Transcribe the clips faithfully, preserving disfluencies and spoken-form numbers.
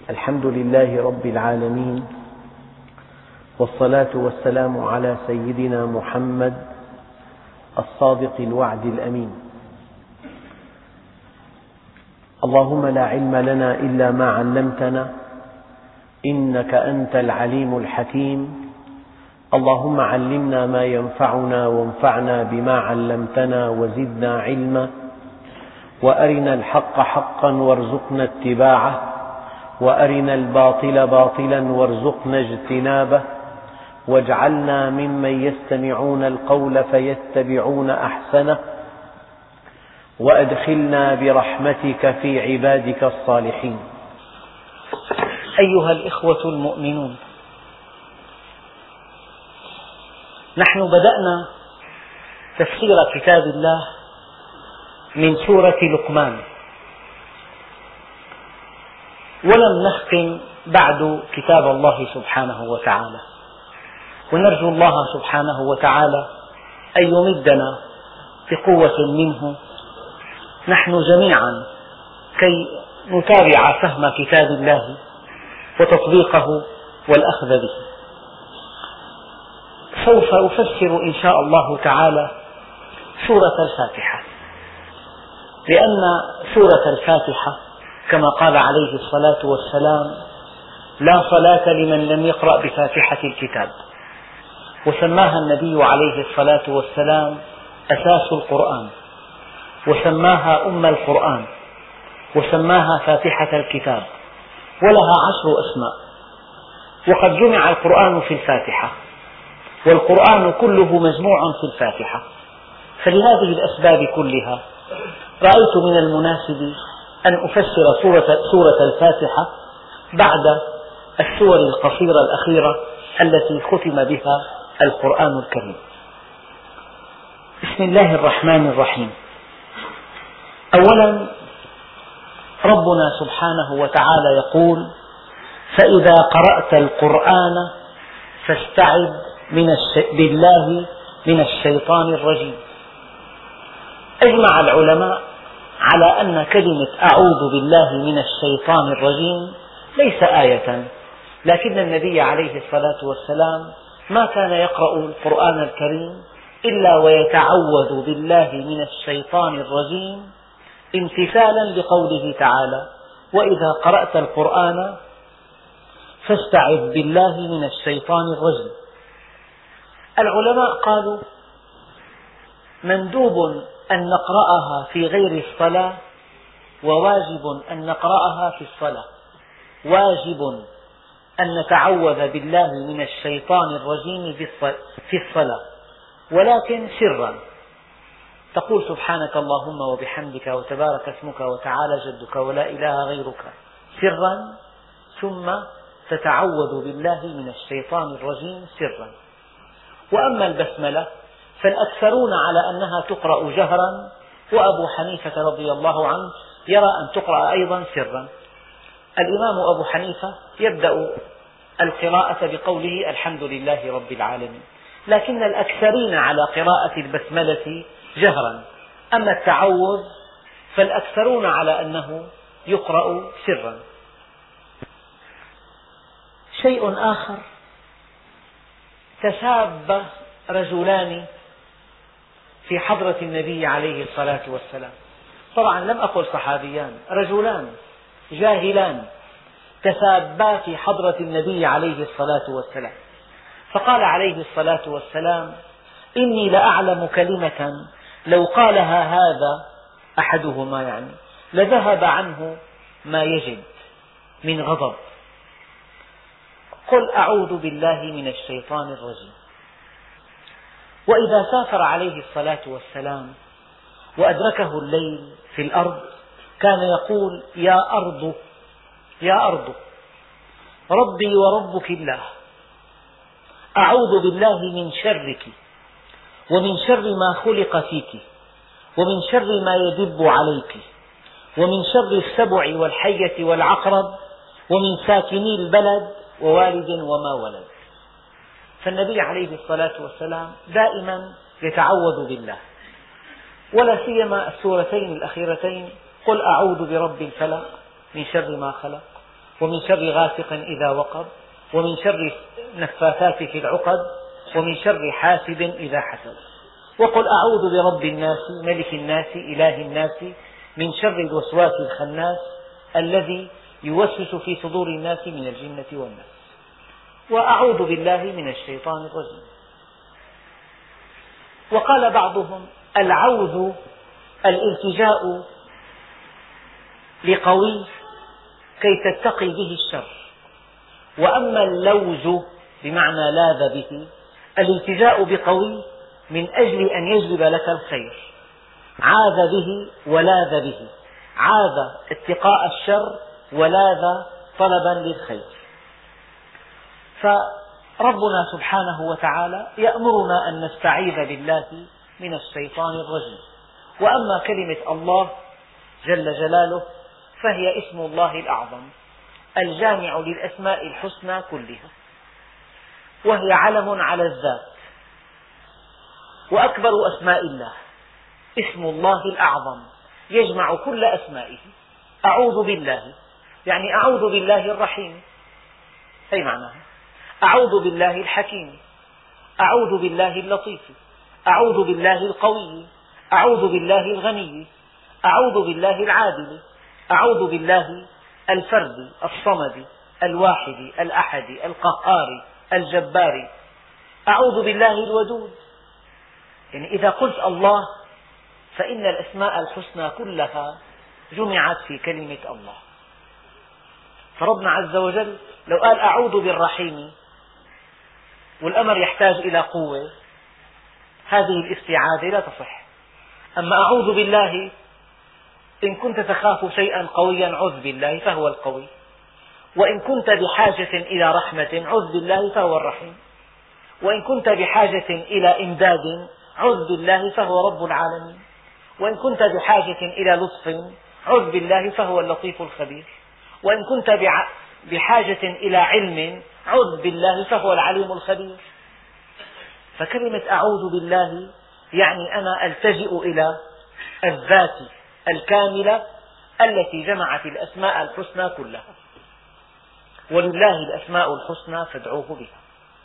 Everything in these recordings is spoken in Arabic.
الحمد لله رب العالمين، والصلاة والسلام على سيدنا محمد الصادق الوعد الأمين. اللهم لا علم لنا إلا ما علمتنا إنك أنت العليم الحكيم. اللهم علمنا ما ينفعنا وانفعنا بما علمتنا وزدنا علما، وأرنا الحق حقا وارزقنا اتباعه، وأرنا الباطل باطلا وارزقنا اجتنابه، واجعلنا ممن يستمعون القول فيتبعون أحسنه، وأدخلنا برحمتك في عبادك الصالحين. أيها الإخوة المؤمنون، نحن بدأنا تفسير كتاب الله من سورة لقمان، ولم نختم بعد كتاب الله سبحانه وتعالى، ونرجو الله سبحانه وتعالى أن يمدنا بقوة منه نحن جميعا كي نتابع فهم كتاب الله وتطبيقه والأخذ به. سوف أفسر إن شاء الله تعالى سورة الفاتحة، لأن سورة الفاتحة كما قال عليه الصلاة والسلام: لا صلاة لمن لم يقرأ بفاتحة الكتاب، وسماها النبي عليه الصلاة والسلام أساس القرآن، وسماها أم القرآن، وسماها فاتحة الكتاب، ولها عشر أسماء. وقد جمع القرآن في الفاتحة، والقرآن كله مجموع في الفاتحة، فلهذه الأسباب كلها رأيت من المناسب أن أفسر سورة, سورة الفاتحة بعد السور القصيرة الأخيرة التي ختم بها القرآن الكريم. بسم الله الرحمن الرحيم. أولا، ربنا سبحانه وتعالى يقول: فإذا قرأت القرآن فاستعذ من الش... بالله من الشيطان الرجيم. أجمع العلماء على أن كلمة أعوذ بالله من الشيطان الرجيم ليس آية، لكن النبي عليه الصلاة والسلام ما كان يقرأ القرآن الكريم إلا ويتعوذ بالله من الشيطان الرجيم امتثالا لقوله تعالى: وإذا قرأت القرآن فاستعذ بالله من الشيطان الرجيم. العلماء قالوا: مندوب أن نقرأها في غير الصلاة، وواجب أن نقرأها في الصلاة. واجب أن نتعوذ بالله من الشيطان الرجيم في الصلاة، ولكن سرا. تقول: سبحانك اللهم وبحمدك وتبارك اسمك وتعالى جدك ولا إله غيرك، سرا، ثم تتعوذ بالله من الشيطان الرجيم سرا. وأما البسملة فالأكثرون على أنها تقرأ جهرا، وأبو حنيفة رضي الله عنه يرى أن تقرأ أيضا سرا. الإمام أبو حنيفة يبدأ القراءة بقوله: الحمد لله رب العالمين، لكن الأكثرين على قراءة البسملة جهرا. أما التعوذ فالأكثرون على أنه يقرأ سرا. شيء آخر: تساب رجلان في حضرة النبي عليه الصلاة والسلام. طبعا لم أقل صحابيان، رجلان جاهلان تسابا في حضرة النبي عليه الصلاة والسلام، فقال عليه الصلاة والسلام: إني لأعلم كلمة لو قالها هذا أحدهما يعني لذهب عنه ما يجد من غضب. قل أعوذ بالله من الشيطان الرجيم. وإذا سافر عليه الصلاة والسلام وأدركه الليل في الأرض كان يقول: يا أرض يا أرض ربي وربك الله، أعوذ بالله من شرك، ومن شر ما خلق فيك، ومن شر ما يدب عليك، ومن شر السبع والحية والعقرب، ومن ساكني البلد ووالد وما ولد. فالنبي عليه الصلاة والسلام دائما يتعوذ بالله، ولا سيما السورتين الأخيرتين: قل أعوذ برب الفلق من شر ما خلق، ومن شر غاسق إذا وقب، ومن شر النفاثات في العقد، ومن شر حاسد إذا حسد. وقل أعوذ برب الناس ملك الناس إله الناس من شر الوسواس الخناس الذي يوسوس في صدور الناس من الجنة والناس. وأعوذ بالله من الشيطان الرجيم. وقال بعضهم العوذ الالتجاء لقوي كي تتقي به الشر، وأما اللوز بمعنى لاذ به الالتجاء بقوي من أجل أن يجلب لك الخير، عاذ به ولاذ به، عاذ اتقاء الشر ولاذ طلبا للخير. فربنا سبحانه وتعالى يأمرنا أن نستعيذ بالله من الشيطان الرجيم. وأما كلمة الله جل جلاله فهي اسم الله الأعظم الجامع للأسماء الحسنى كلها، وهي علم على الذات، وأكبر أسماء الله اسم الله الأعظم يجمع كل أسمائه. أعوذ بالله يعني أعوذ بالله الرحيم، أي معناها أعوذ بالله الحكيم، أعوذ بالله اللطيف، أعوذ بالله القوي، أعوذ بالله الغني، أعوذ بالله العادل، أعوذ بالله الفرد الصمد الواحد الأحد القهار الجبار، أعوذ بالله الودود. يعني إذا قلت الله فإن الأسماء الحسنى كلها جمعت في كلمة الله. فربنا عز وجل لو قال أعوذ بالرحيم والأمر يحتاج إلى قوة، هذه الاستعاذة لا تصح. أما أعوذ بالله إن كنت تخاف شيئا قويا عذ بالله فهو القوي، وإن كنت بحاجة إلى رحمة عذ بالله فهو الرحيم، وإن كنت بحاجة إلى إمداد عذ بالله فهو رب العالمين، وإن كنت بحاجة إلى لطف عذ بالله فهو اللطيف الخبير، وإن كنت بحاجة إلى علم عذ بالله فهو العليم الخبير. فكلمة أعوذ بالله يعني أنا ألتجئ إلى الذات الكاملة التي جمعت الأسماء الحسنى كلها، ولله الأسماء الحسنى فادعوه بها.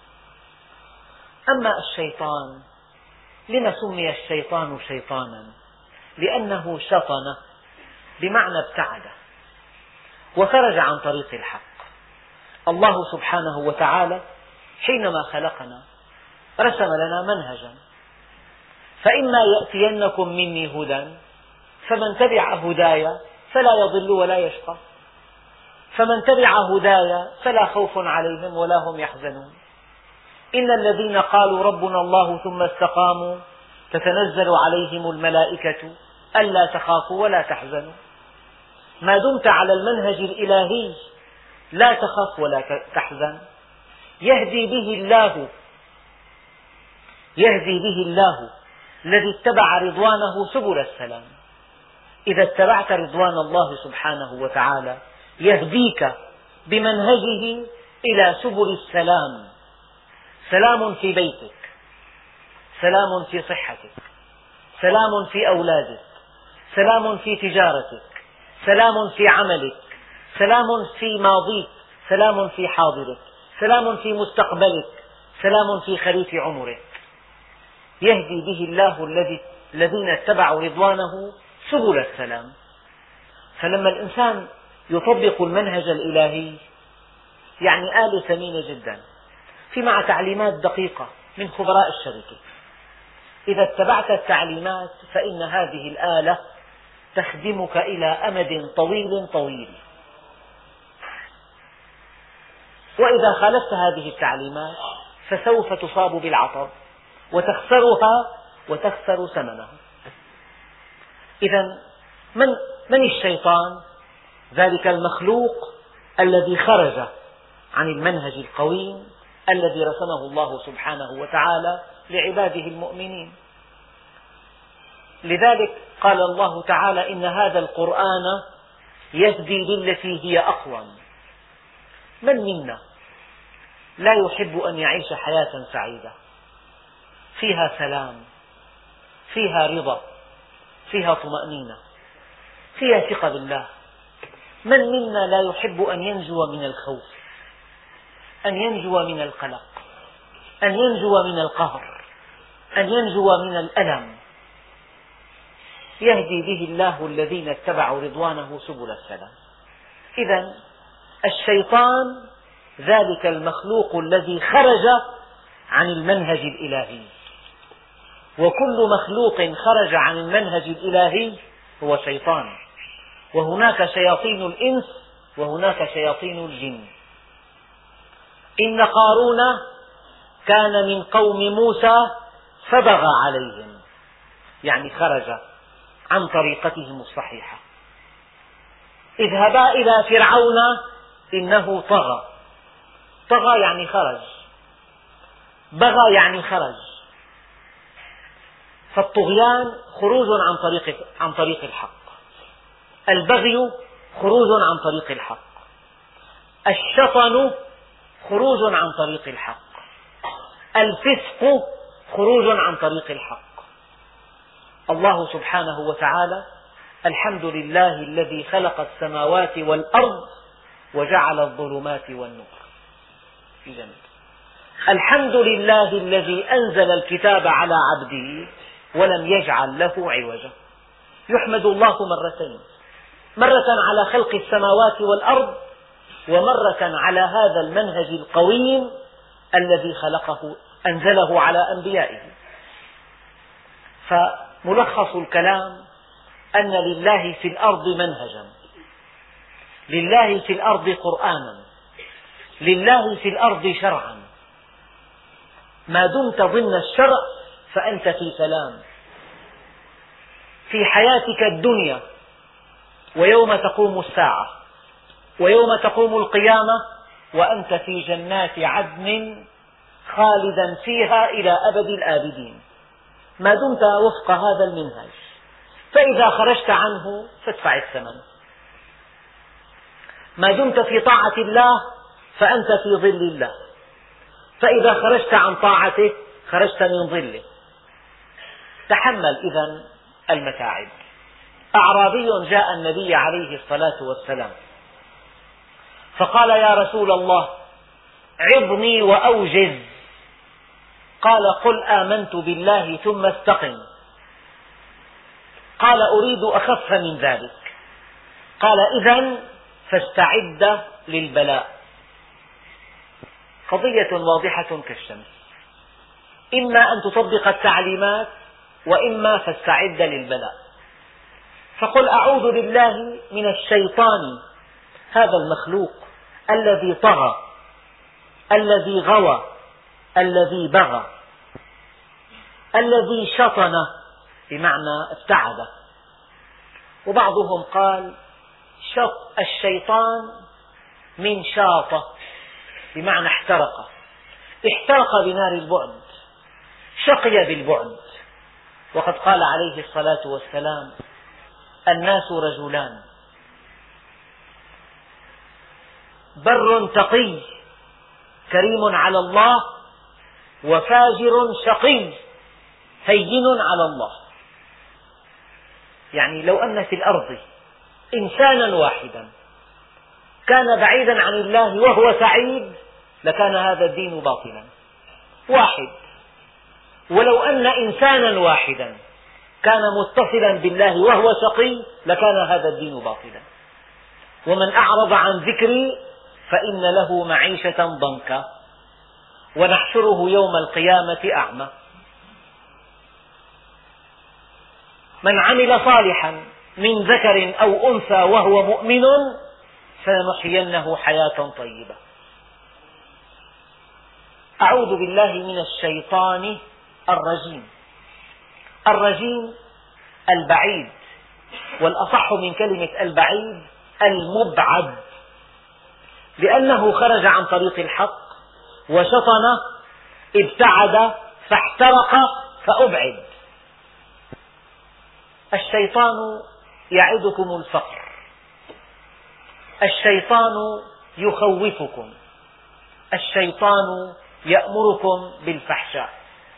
أما الشيطان، لما سمي الشيطان شيطانا؟ لأنه شطن بمعنى ابتعد وخرج عن طريق الحق. الله سبحانه وتعالى حينما خلقنا رسم لنا منهجا، فإما يأتينكم مني هدى فمن تبع هداي فلا يضل ولا يشقى، فمن تبع هداي فلا خوف عليهم ولا هم يحزنون. إن الذين قالوا ربنا الله ثم استقاموا تتنزل عليهم الملائكة ألا تخافوا ولا تحزنوا. ما دمت على المنهج الإلهي لا تخف ولا تحزن. يهدي به الله يهدي به الله الذي اتبع رضوانه سبل السلام. إذا اتبعت رضوان الله سبحانه وتعالى يهديك بمنهجه إلى سبل السلام، سلام في بيتك، سلام في صحتك، سلام في أولادك، سلام في تجارتك، سلام في عملك، سلام في ماضيك، سلام في حاضرك، سلام في مستقبلك، سلام في خريف عمرك. يهدي به الله الذين اتبعوا رضوانه سبل السلام. فلما الإنسان يطبق المنهج الإلهي يعني آلة ثمينة جدا، في مع تعليمات دقيقة من خبراء الشركة. إذا اتبعت التعليمات فإن هذه الآلة تخدمك إلى أمد طويل طويل، وإذا خالفت هذه التعليمات فسوف تصاب بالعطب وتخسرها وتخسر ثمنها. إذا من, من الشيطان؟ ذلك المخلوق الذي خرج عن المنهج القويم الذي رسمه الله سبحانه وتعالى لعباده المؤمنين. لذلك قال الله تعالى إن هذا القرآن يهدي للتي هي أقوم. من منا لا يحب أن يعيش حياة سعيدة فيها سلام، فيها رضا، فيها طمأنينة، فيها ثقة بالله، من منا لا يحب أن ينجو من الخوف، أن ينجو من القلق، أن ينجو من القهر، أن ينجو من الألم؟ يهدي به الله الذين اتبعوا رضوانه سبل السلام. إذن الشيطان ذلك المخلوق الذي خرج عن المنهج الإلهي، وكل مخلوق خرج عن المنهج الإلهي هو شيطان، وهناك شياطين الإنس وهناك شياطين الجن. إن قارون كان من قوم موسى فبغى عليهم، يعني خرج عن طريقتهم الصحيحة. اذهبا إلى فرعون إنه طغى، طغى يعني خرج، بغى يعني خرج. فالطغيان خروج عن طريق عن طريق الحق، البغي خروج عن طريق الحق، الشطن خروج عن طريق الحق، الفسق خروج عن طريق الحق. الله سبحانه وتعالى الحمد لله الذي خلق السماوات والأرض وجعل الظلمات والنور في جنة. الحمد لله الذي أنزل الكتاب على عبده ولم يجعل له عوجا. يحمد الله مرتين، مرة على خلق السماوات والأرض، ومرة على هذا المنهج القويم الذي خلقه أنزله على أنبيائه. فملخص الكلام أن لله في الأرض منهجا، لله في الأرض قرآنا، لله في الأرض شرعا. ما دمت ضمن الشرع فأنت في سلام في حياتك الدنيا، ويوم تقوم الساعة، ويوم تقوم القيامة، وأنت في جنات عدن خالدا فيها إلى أبد الآبدين، ما دمت وفق هذا المنهج. فإذا خرجت عنه فادفع الثمن. ما دمت في طاعة الله فأنت في ظل الله، فإذا خرجت عن طاعته خرجت من ظله. تحمل إذن المتاعب. أعرابي جاء النبي عليه الصلاة والسلام فقال: يا رسول الله، عظني وأوجز. قال: قل آمنت بالله ثم استقم. قال: أريد أخف من ذلك. قال: إذن فاستعد للبلاء. قضية واضحة كالشمس، إما أن تطبق التعليمات وإما فاستعد للبلاء. فقل أعوذ بالله من الشيطان، هذا المخلوق الذي طغى، الذي غوى، الذي بغى، الذي شطن بمعنى ابتعد. وبعضهم قال شط الشيطان من شاطة بمعنى احترق، احترق بنار البعد، شقي بالبعد. وقد قال عليه الصلاة والسلام: الناس رجلان، بر تقي كريم على الله، وفاجر شقي هين على الله. يعني لو أن في الأرض إنسانا واحدا كان بعيدا عن الله وهو سعيد لكان هذا الدين باطلا، واحد. ولو أن إنسانا واحدا كان متصلا بالله وهو شقي لكان هذا الدين باطلا. ومن أعرض عن ذكري فإن له معيشة ضنكا ونحشره يوم القيامة أعمى. من عمل صالحا من ذكر أو أنثى وهو مؤمن فلنحيينه حياة طيبة. أعوذ بالله من الشيطان الرجيم. الرجيم البعيد، والأصح من كلمة البعيد المبعد، لأنه خرج عن طريق الحق وشطن، ابتعد فاحترق فأبعد. الشيطان يعدكم الفقر، الشيطان يخوفكم، الشيطان يأمركم بالفحشاء.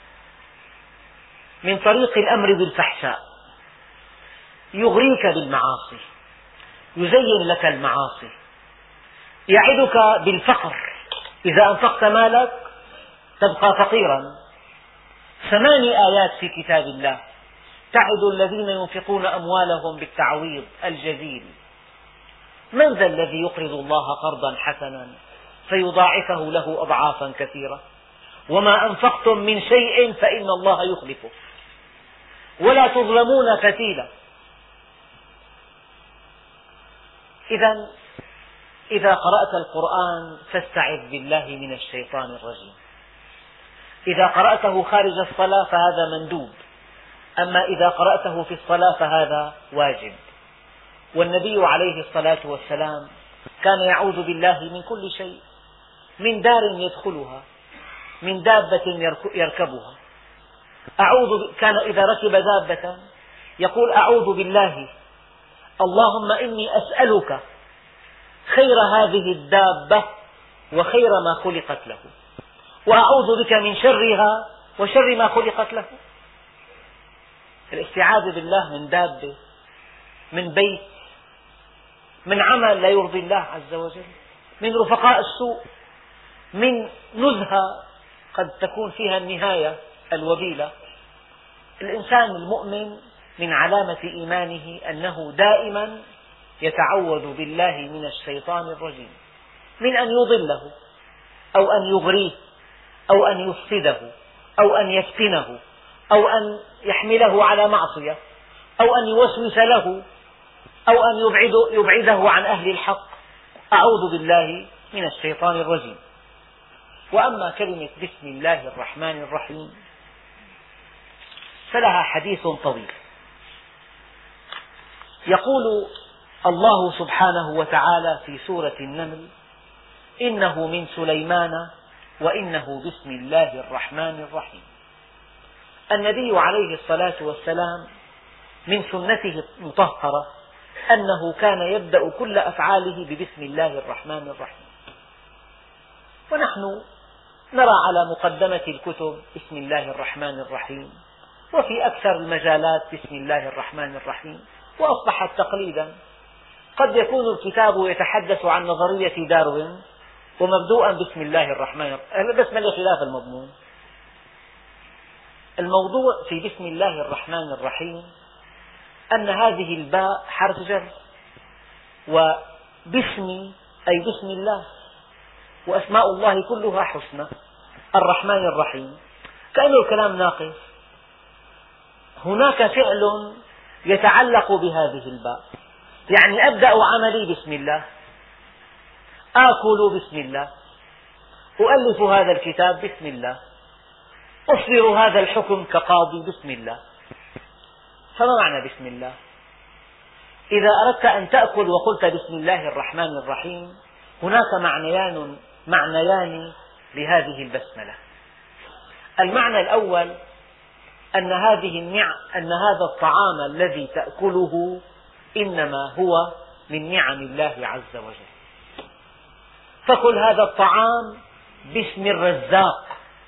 من طريق الأمر بالفحشاء يغريك بالمعاصي، يزين لك المعاصي، يعدك بالفقر، إذا أنفقت مالك تبقى فقيرا. ثماني آيات في كتاب الله تعد الذين ينفقون أموالهم بالتعويض الجزيل. من ذا الذي يقرض الله قرضا حسنا فيضاعفه له أضعافا كثيرة؟ وما أنفقتم من شيء فإن الله يخلفه ولا تظلمون فتيلا. إذا إذا قرأت القرآن فاستعذ بالله من الشيطان الرجيم. إذا قرأته خارج الصلاة فهذا مندوب، أما إذا قرأته في الصلاة فهذا واجب. والنبي عليه الصلاة والسلام كان يعوذ بالله من كل شيء، من دار يدخلها، من دابة يركبها. أعوذ كان إذا ركب دابة يقول أعوذ بالله اللهم إني أسألك خير هذه الدابة وخير ما خلقت له، وأعوذ بك من شرها وشر ما خلقت له. الاستعاذة بالله من دابة، من بيت، من عمل لا يرضي الله عز وجل، من رفقاء السوء، من نزهة قد تكون فيها النهاية الوبيلة. الإنسان المؤمن من علامة إيمانه أنه دائما يتعوذ بالله من الشيطان الرجيم، من أن يضله أو أن يغريه أو أن يفسده أو أن يفتنه أو أن يحمله على معصية أو أن يوسوس له أو أن يبعده, يبعده عن أهل الحق. أعوذ بالله من الشيطان الرجيم. وأما كلمة بسم الله الرحمن الرحيم فلها حديث طويل. يقول الله سبحانه وتعالى في سورة النمل إنه من سليمان وإنه بسم الله الرحمن الرحيم. النبي عليه الصلاة والسلام من سنته المطهرة أنه كان يبدأ كل أفعاله ببسم الله الرحمن الرحيم، ونحن نرى على مقدمة الكتب بسم الله الرحمن الرحيم، وفي أكثر المجالات بسم الله الرحمن الرحيم، وأصبحت تقليدا. قد يكون الكتاب يتحدث عن نظرية داروين ومبدوءا بسم الله الرحمن الرحيم، بس ما له خلاف المضمون. الموضوع في بسم الله الرحمن الرحيم أن هذه الباء حرف جر، وباسم أي بسم الله، وأسماء الله كلها حسنى. الرحمن الرحيم كأنه الكلام ناقص، هناك فعل يتعلق بهذه الباء، يعني أبدأ عملي بسم الله، آكل بسم الله، أؤلف هذا الكتاب بسم الله، أصدر هذا الحكم كقاضي بسم الله. فما معنى بسم الله؟ إذا أردت أن تأكل وقلت بسم الله الرحمن الرحيم هناك معنيان معنيان لهذه البسملة. المعنى الأول أن هذه النعم أن هذا الطعام الذي تأكله إنما هو من نعم الله عز وجل، فكل هذا الطعام باسم الرزاق،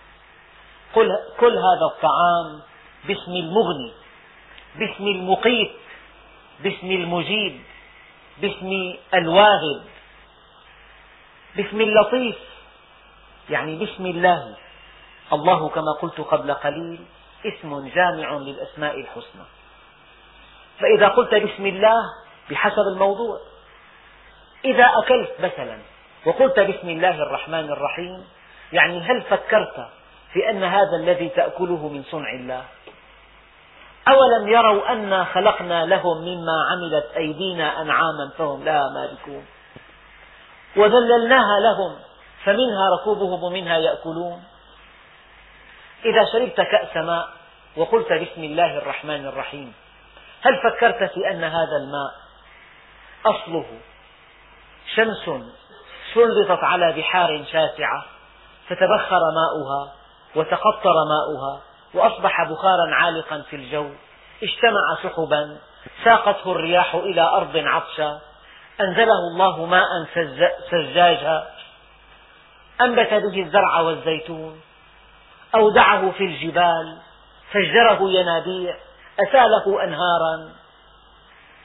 كل هذا الطعام باسم المغني، باسم المقيت، باسم المجيب، باسم الواهب، باسم اللطيف، يعني باسم الله. الله كما قلت قبل قليل اسم جامع للأسماء الحسنى. فإذا قلت بسم الله بحسب الموضوع، إذا أكلت مثلا وقلت بسم الله الرحمن الرحيم يعني هل فكرت في أن هذا الذي تأكله من صنع الله؟ أولم يروا أنا خلقنا لهم مما عملت أيدينا أنعاما فهم لها مالكون وذللناها لهم فمنها ركوبهم ومنها يأكلون. إذا شربت كأس ماء وقلت بسم الله الرحمن الرحيم هل فكرت في أن هذا الماء أصله شمس سلطت على بحار شاسعة فتبخر ماؤها وتقطر ماؤها وأصبح بخارا عالقا في الجو، اجتمع سحبا ساقته الرياح إلى أرض عطشا أنزله الله ماء سجاجا أنبت به الزرع والزيتون، أودعه في الجبال فجره ينابيع أساله أنهارا.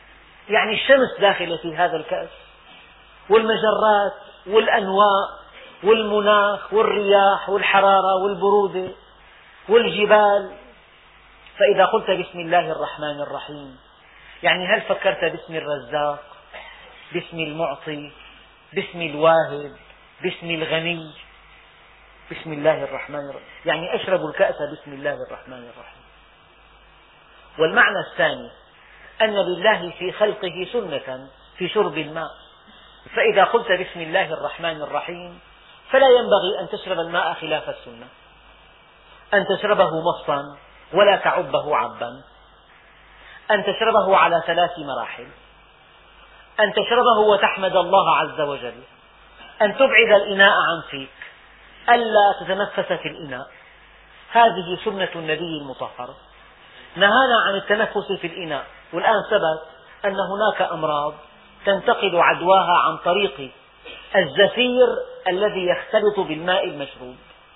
يعني الشمس داخلة في هذا الكأس، والمجرات والأنواء والمناخ والرياح والحرارة والبرودة والجبال. فإذا قلت بسم الله الرحمن الرحيم، يعني هل فكرت باسم الرزاق، باسم المعطي، باسم الواهب، باسم الغني؟ بسم الله الرحمن الرحيم يعني أشرب الكأس بسم الله الرحمن الرحيم. والمعنى الثاني أن لله في خلقه سنة في شرب الماء، فإذا قلت بسم الله الرحمن الرحيم فلا ينبغي أن تشرب الماء خلاف السنة، أن تشربه مصا ولا تعبه عبا، أن تشربه على ثلاث مراحل، أن تشربه وتحمد الله عز وجل، أن تبعد الإناء عن فيك، ألا تتنفس في الإناء. هذه سنة النبي المطهر، نهانا عن التنفس في الإناء. والآن ثبت أن هناك أمراض تنتقل عدواها عن طريق الزفير الذي يختلط بالماء المشروب.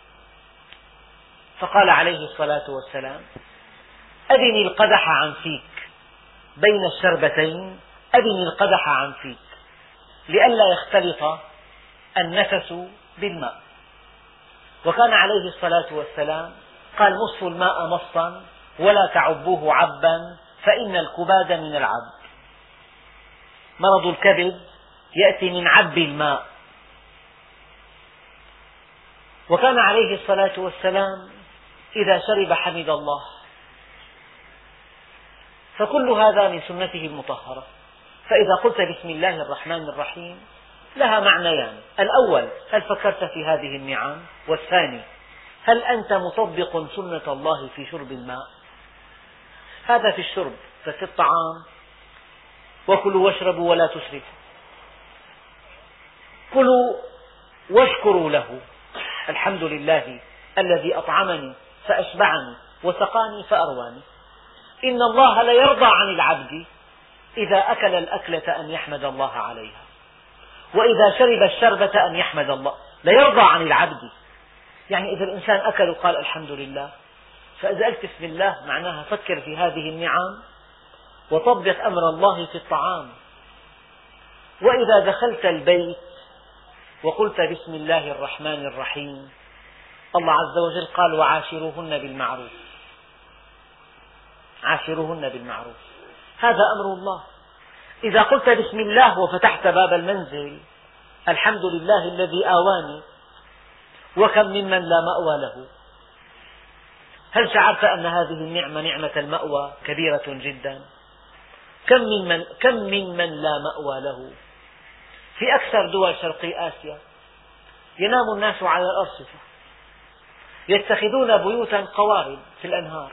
فقال عليه الصلاة والسلام: أدني القدح عن فيك بين الشربتين، أدني القدح عن فيك، لئلا يختلط النفس بالماء. وكان عليه الصلاة والسلام قال: مصوا الماء مصا ولا تعبوه عبا، فإن الكباد من العب. مرض الكبد يأتي من عب الماء. وكان عليه الصلاة والسلام إذا شرب حمد الله. فكل هذا من سنته المطهرة. فإذا قلت بسم الله الرحمن الرحيم لها معنيان: الأول، هل فكرت في هذه النعم؟ والثاني، هل أنت مطبق سنة الله في شرب الماء؟ هذا في الشرب. ففي الطعام: وكلوا واشربوا ولا تسرفوا. كلوا واشكروا له: الحمد لله الذي أطعمني فأشبعني وسقاني فأرواني. إن الله ليرضى عن العبد إذا أكل الأكلة أن يحمد الله عليها، وإذا شرب الشربة أن يحمد الله. ليرضى عن العبد يعني إذا الإنسان أكل وقال الحمد لله. فإذا قلت بسم الله معناها فكر في هذه النعم وطبق أمر الله في الطعام. وإذا دخلت البيت وقلت بسم الله الرحمن الرحيم، الله عز وجل قال: وعاشروهن بالمعروف. عاشروهن بالمعروف، هذا أمر الله. إذا قلت بسم الله وفتحت باب المنزل: الحمد لله الذي آواني وكم ممن لا مأوى له. هل شعرت أن هذه النعمة، نعمة المأوى، كبيرة جدا؟ كم ممن, كم ممن لا مأوى له؟ في أكثر دول شرقي آسيا ينام الناس على الأرصفة، يتخذون بيوتا قوارب في الأنهار.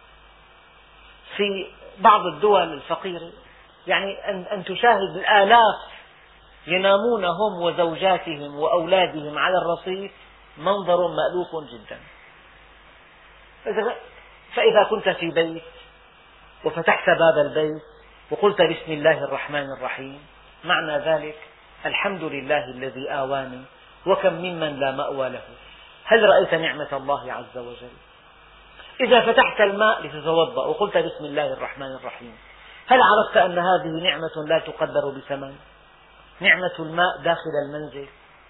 في بعض الدول الفقيرة يعني أن تشاهد الآلاف ينامون هم وزوجاتهم وأولادهم على الرصيف، منظر مألوف جدا. فإذا كنت في بيت وفتحت باب البيت وقلت بسم الله الرحمن الرحيم، معنى ذلك: الحمد لله الذي آواني وكم ممن لا مأوى له. هل رأيت نعمة الله عز وجل؟ إذا فتحت الماء لتتوضأ وقلت بسم الله الرحمن الرحيم، هل عرفت أن هذه نعمة لا تقدر بثمن؟ نعمة الماء داخل المنزل.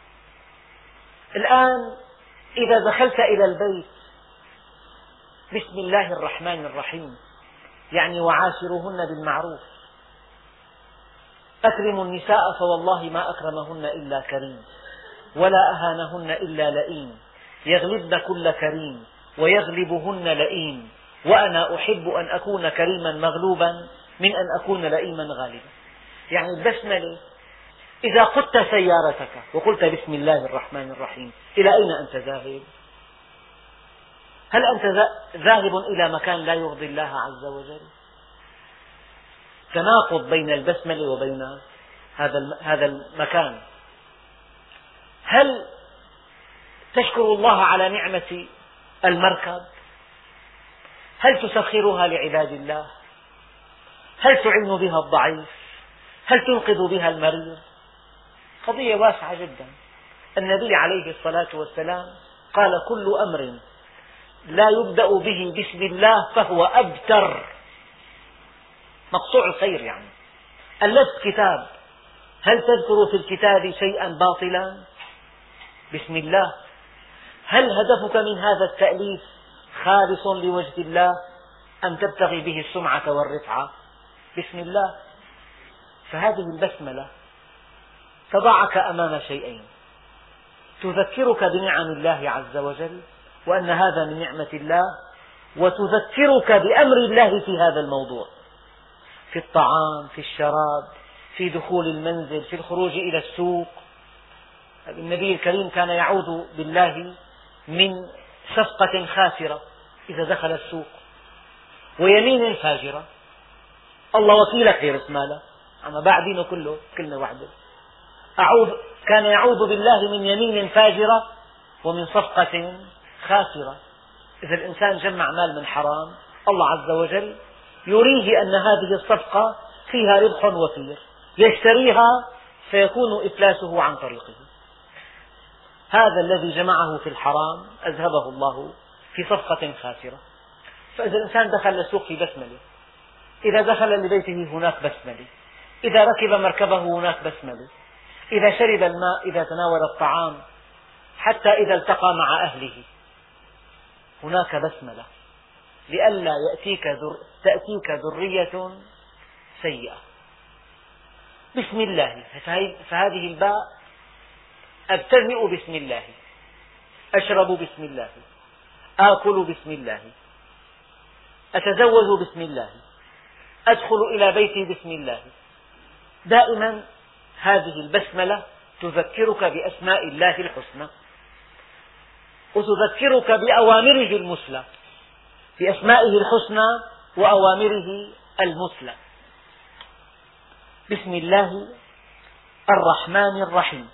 الآن إذا دخلت إلى البيت بسم الله الرحمن الرحيم يعني وعاشروهن بالمعروف. أكرموا النساء فوالله ما أكرمهن إلا كريم، ولا أهانهن إلا لئيم، يغلبن كل كريم ويغلبهن لئيم، وأنا أحب أن أكون كريما مغلوبا من أن أكون لئيما غالبا. يعني البسملة إذا قدت سيارتك وقلت بسم الله الرحمن الرحيم، إلى أين أنت ذاهب؟ هل أنت ذاهب إلى مكان لا يرضي الله عز وجل؟ تناقض بين البسملة وبين هذا المكان. هل تشكر الله على نعمة المركب؟ هل تسخرها لعباد الله؟ هل تعين بها الضعيف؟ هل تنقذ بها المريض؟ قضية واسعة جدا. النبي عليه الصلاة والسلام قال: كل أمر لا يبدأ به بسم الله فهو أبتر، مقطوع الخير. يعني ألفت كتاب، هل تذكر في الكتاب شيئا باطلا؟ بسم الله. هل هدفك من هذا التأليف خالص لوجه الله أم تبتغي به السمعة والرفعة؟ بسم الله. فهذه البسملة تضعك أمام شيئين: تذكرك بنعم الله عز وجل وأن هذا من نعمة الله، وتذكرك بأمر الله في هذا الموضوع، في الطعام، في الشراب، في دخول المنزل، في الخروج إلى السوق. النبي الكريم كان يعوذ بالله من صفقة خاسرة إذا دخل السوق، ويمين فاجرة. الله وكيلك غير اسماله، أما بعدينه كله كلمة واحدة. أعوذ كان يعوذ بالله من يمين فاجرة ومن صفقة خاسرة. إذا الإنسان جمع مال من حرام، الله عز وجل يريه أن هذه الصفقة فيها ربح وفير، يشتريها فيكون إفلاسه عن طريقه. هذا الذي جمعه في الحرام أذهبه الله في صفقة خاسرة. فإذا الإنسان دخل السوق في بسملة، إذا دخل لبيته هناك بسملة، إذا ركب مركبه هناك بسملة، إذا شرب الماء، إذا تناول الطعام، حتى إذا التقى مع أهله هناك بسملة، لئلا يأتيك ذر... تأتيك ذرية سيئة. بسم الله. فهذه الباء: أبتدئ بسم الله، أشرب بسم الله، آكل بسم الله، أتزوج بسم الله، أدخل إلى بيتي بسم الله. دائما هذه البسملة تذكرك بأسماء الله الحسنى، وتذكرك بأوامره المثلى، بأسمائه الحسنى وأوامره المثلى. بسم الله الرحمن الرحيم.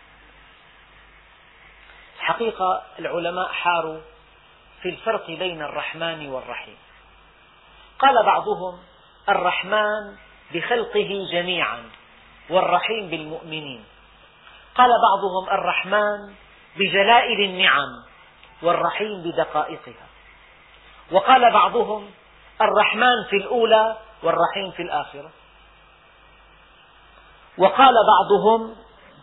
الحقيقة العلماء حاروا في الفرق بين الرحمن والرحيم. قال بعضهم: الرحمن بخلقه جميعا والرحيم بالمؤمنين. قال بعضهم: الرحمن بجلائل النعم والرحيم بدقائقها. وقال بعضهم: الرحمن في الأولى والرحيم في الآخرة. وقال بعضهم: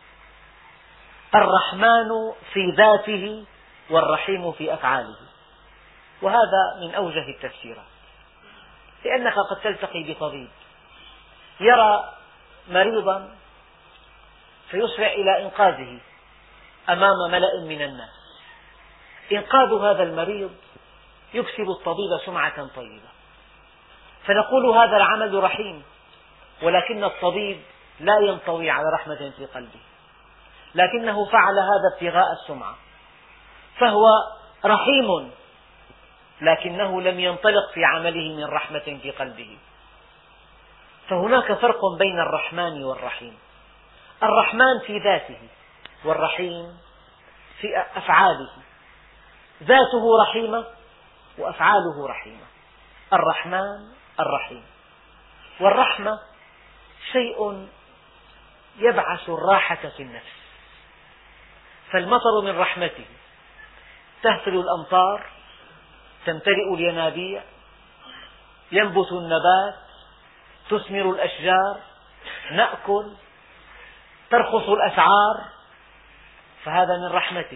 الرحمن في ذاته والرحيم في أفعاله. وهذا من أوجه التفسيرات، لأنك قد تلتقي بطبيب يرى مريضا فيسرع إلى إنقاذه أمام ملأ من الناس. إنقاذ هذا المريض يكسب الطبيب سمعة طيبة، فنقول هذا العمل رحيم، ولكن الطبيب لا ينطوي على رحمة في قلبه، لكنه فعل هذا ابتغاء السمعة، فهو رحيم لكنه لم ينطلق في عمله من رحمة في قلبه. فهناك فرق بين الرحمن والرحيم: الرحمن في ذاته والرحيم في أفعاله. ذاته رحيمة وأفعاله رحيمة. الرحمن الرحيم. والرحمة شيء يبعث الراحة في النفس، فالمطر من رحمته، تهطل الأمطار، تمتلئ الينابيع، ينبت النبات، تثمر الأشجار، نأكل، ترخص الأسعار، فهذا من رحمته.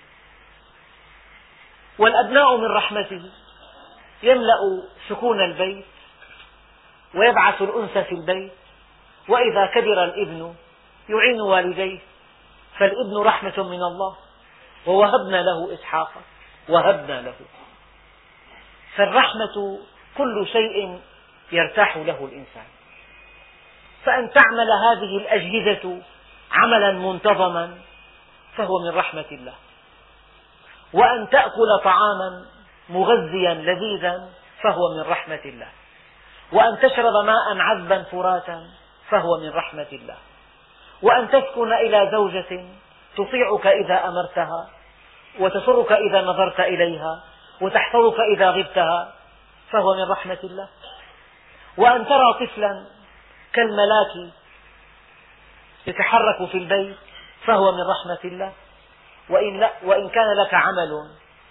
والأبناء من رحمته، يملأ سكون البيت ويبعث الأنس في البيت. وإذا كبر الابن يعين والديه، فالابن رحمة من الله. ووهبنا له إسحاق وهبنا له. فالرحمة كل شيء يرتاح له الإنسان، فأن تعمل هذه الأجهزة عملا منتظما فهو من رحمة الله، وأن تأكل طعاما مغذيا لذيذا فهو من رحمة الله، وأن تشرب ماء عذبا فراتا فهو من رحمة الله، وأن تسكن إلى زوجة تطيعك إذا أمرتها، وتسرك إذا نظرت إليها، وتحفظك إذا غبتها، فهو من رحمة الله. وأن ترى طفلا كالملاك يتحرك في البيت فهو من رحمة الله. وإن, لا وإن كان لك عمل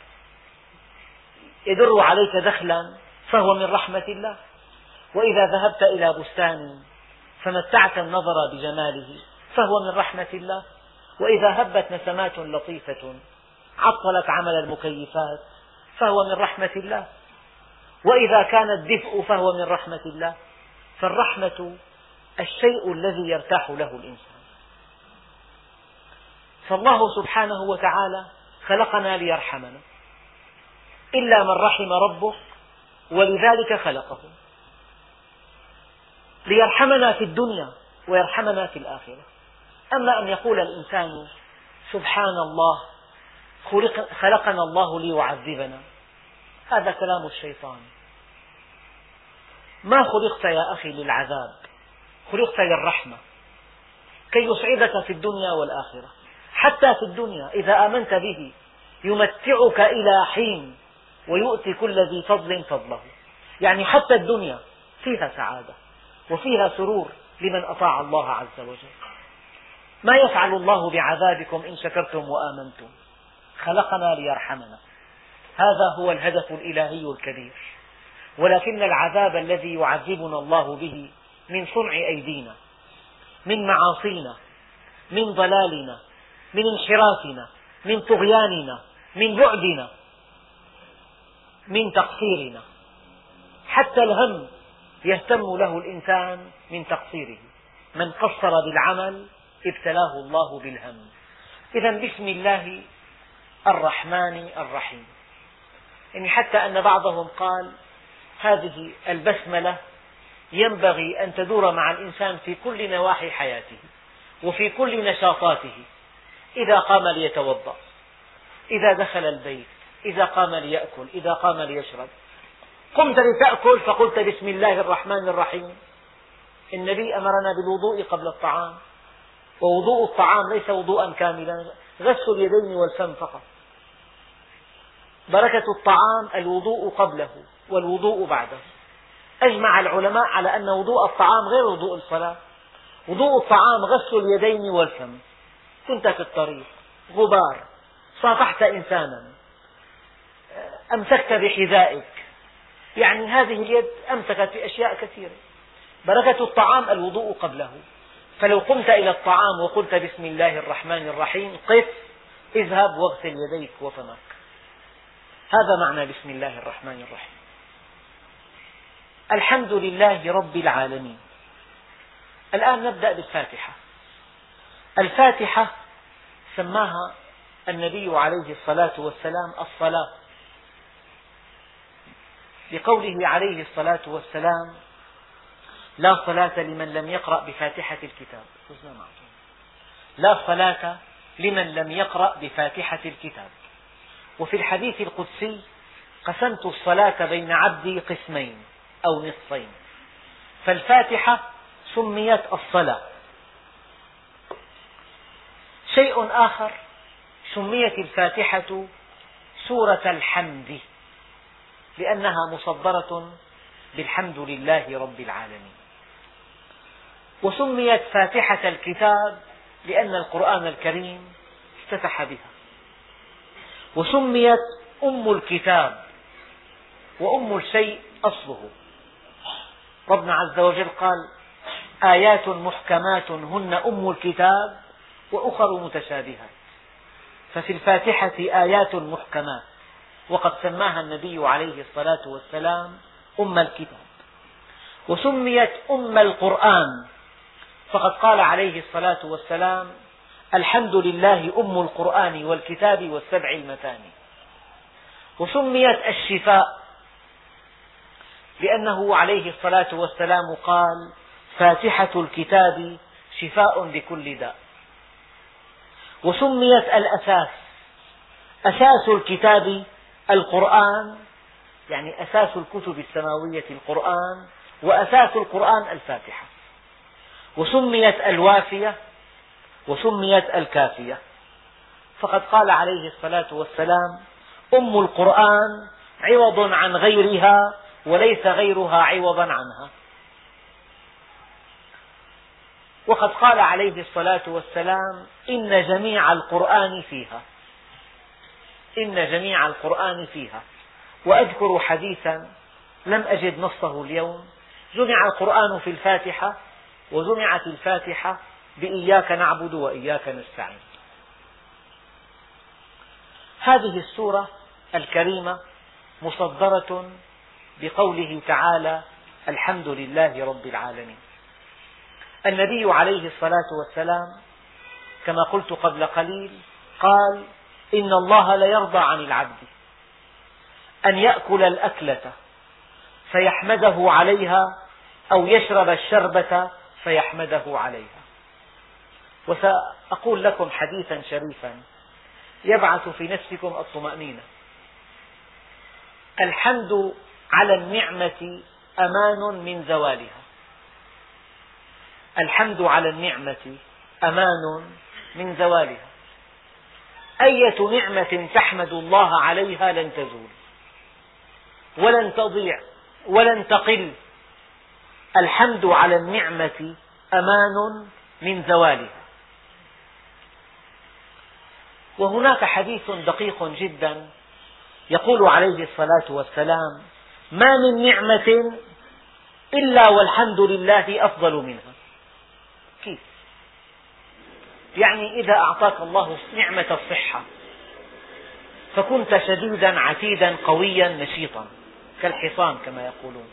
يدر عليك دخلا فهو من رحمة الله. وإذا ذهبت إلى بستان فمتعت النظر بجماله فهو من رحمة الله. وإذا هبت نسمات لطيفة عطلت عمل المكيفات فهو من رحمة الله. وإذا كان الدفء فهو من رحمة الله. فالرحمة الشيء الذي يرتاح له الإنسان. فالله سبحانه وتعالى خلقنا ليرحمنا، إلا من رحم ربه ولذلك خلقه، ليرحمنا في الدنيا ويرحمنا في الآخرة. أما أن يقول الإنسان سبحان الله خلقنا الله ليعذبنا، هذا كلام الشيطان. ما خلقت يا أخي للعذاب، خلقت للرحمة كي يسعدك في الدنيا والآخرة. حتى في الدنيا إذا آمنت به يمتعك إلى حين ويؤتي كل ذي فضل فضله. يعني حتى الدنيا فيها سعادة وفيها سرور لمن أطاع الله عز وجل. ما يفعل الله بعذابكم إن شكرتم وآمنتم، خلقنا ليرحمنا، هذا هو الهدف الإلهي الكبير. ولكن العذاب الذي يعذبنا الله به من صنع أيدينا، من معاصينا، من ضلالنا، من انحرافنا، من طغياننا، من بعدنا، من تقصيرنا. حتى الهم يهتم له الإنسان من تقصيره. من قصر بالعمل ابتلاه الله بالهم. إذا بسم الله الرحمن الرحيم. يعني حتى أن بعضهم قال هذه البسملة ينبغي أن تدور مع الإنسان في كل نواحي حياته وفي كل نشاطاته. إذا قام ليتوضأ، إذا دخل البيت، إذا قام ليأكل، إذا قام ليشرب. قمت لتأكل فقلت بسم الله الرحمن الرحيم. النبي أمرنا بالوضوء قبل الطعام، ووضوء الطعام ليس وضوءا كاملا، غسل اليدين والفم فقط. بركة الطعام الوضوء قبله والوضوء بعده. أجمع العلماء على أن وضوء الطعام غير وضوء الصلاة. وضوء الطعام غسل اليدين والفم. كنت في الطريق، غبار، صافحت إنسانا، أمسكت بحذائك، يعني هذه اليد أمسكت بأشياء كثيرة. بركة الطعام الوضوء قبله. فلو قمت إلى الطعام وقلت بسم الله الرحمن الرحيم قف، اذهب واغسل يديك وفمك. هذا معنى بسم الله الرحمن الرحيم. الحمد لله رب العالمين. الآن نبدأ بالفاتحة. الفاتحة سماها النبي عليه الصلاة والسلام الصلاة، لقوله عليه الصلاة والسلام لا صلاة لمن لم يقرأ بفاتحة الكتاب. لا صلاة لمن لم يقرأ بفاتحة الكتاب. وفي الحديث القدسي قسمت الصلاة بين عبدي قسمين أو نصفين. فالفاتحة سميت الصلاة. شيء آخر، سميت الفاتحة سورة الحمد لأنها مصدرة بالحمد لله رب العالمين. وسميت فاتحة الكتاب لأن القرآن الكريم افتتح بها. وسميت أم الكتاب، وأم الشيء أصله. ربنا عز وجل قال آيات محكمات هن أم الكتاب وأخر متشابهات. ففي الفاتحة آيات محكمات، وقد سماها النبي عليه الصلاة والسلام أم الكتاب. وسميت أم القرآن، فقد قال عليه الصلاة والسلام الحمد لله أم القرآن والكتاب والسبع المثاني. وسميت الشفاء لأنه عليه الصلاة والسلام قال فاتحة الكتاب شفاء لكل داء. وسميت الأساس، أساس الكتاب القرآن، يعني أساس الكتب السماوية القرآن، وأساس القرآن الفاتحة. وسميت الوافية وسميت الكافية. فقد قال عليه الصلاة والسلام أم القرآن عوض عن غيرها وليس غيرها عوضا عنها. وقد قال عليه الصلاة والسلام إن جميع القرآن فيها، إن جميع القرآن فيها. وأذكر حديثا لم أجد نصه اليوم، جمع القرآن في الفاتحة وجمعت الفاتحة بإياك نعبد وإياك نستعين. هذه السورة الكريمة مصدرة بقوله تعالى: الحمد لله رب العالمين. النبي عليه الصلاة والسلام كما قلت قبل قليل قال: إن الله ليرضى عن العبد أن يأكل الأكلة فيحمده عليها أو يشرب الشربة فيحمده عليها. وسأقول لكم حديثا شريفا يبعث في نفسكم الطمأنينة. الحمد على النعمة أمان من زوالها. الحمد على النعمة أمان من زوالها. أية نعمة تحمد الله عليها لن تزول ولن تضيع ولن تقل. الحمد على النعمة أمان من زوالها. وهناك حديث دقيق جدا يقول عليه الصلاة والسلام: ما من نعمة إلا والحمد لله أفضل منها. كيف؟ يعني إذا أعطاك الله نعمة الصحة فكنت شديدا عتيدا قويا نشيطا كالحصان كما يقولون،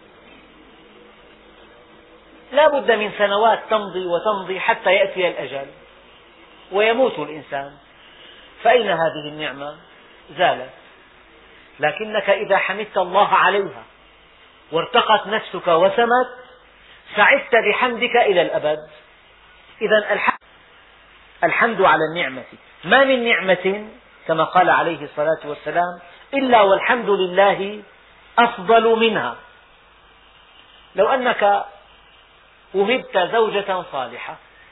لا بد من سنوات تمضي وتمضي حتى يأتي الأجل ويموت الإنسان، فأين هذه النعمة؟ زالت. لكنك إذا حمدت الله عليها وارتقت نفسك وسمت سعدت بحمدك إلى الأبد. إذا الحمد على النعمة. ما من نعمة كما قال عليه الصلاة والسلام إلا والحمد لله أفضل منها. لو أنك وهبت زوجة صالحة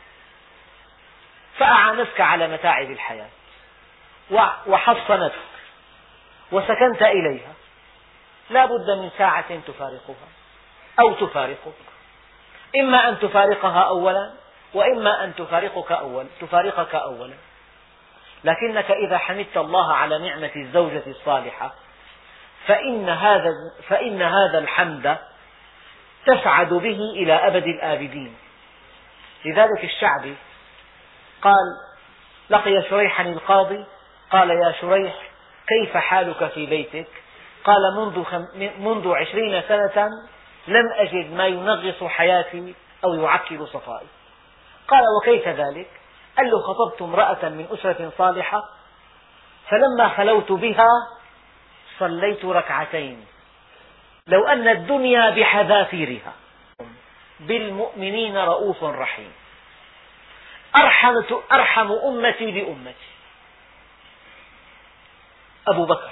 فأعانتك على متاعب الحياة وحصنتك وسكنت إليها، لا بد من ساعة تفارقها أو تفارقك، إما أن تفارقها أولا وإما أن تفارقك أولا تفارقك أولا. لكنك إذا حمدت الله على نعمة الزوجة الصالحة فإن هذا فإن هذا الحمد تسعد به إلى أبد الآبدين. لذلك الشعبي قال: لقي شريحا القاضي قال: يا شريح كيف حالك في بيتك؟ قال: منذ, خم... منذ عشرين سنة لم أجد ما ينغص حياتي أو يعكر صفائي. قال: وكيف ذلك؟ قال له: خطبت امرأة من أسرة صالحة فلما خلوت بها صليت ركعتين لو أن الدنيا بحذافيرها بالمؤمنين رؤوف رحيم. أرحم, أرحم أمتي بأمتي أبو بكر،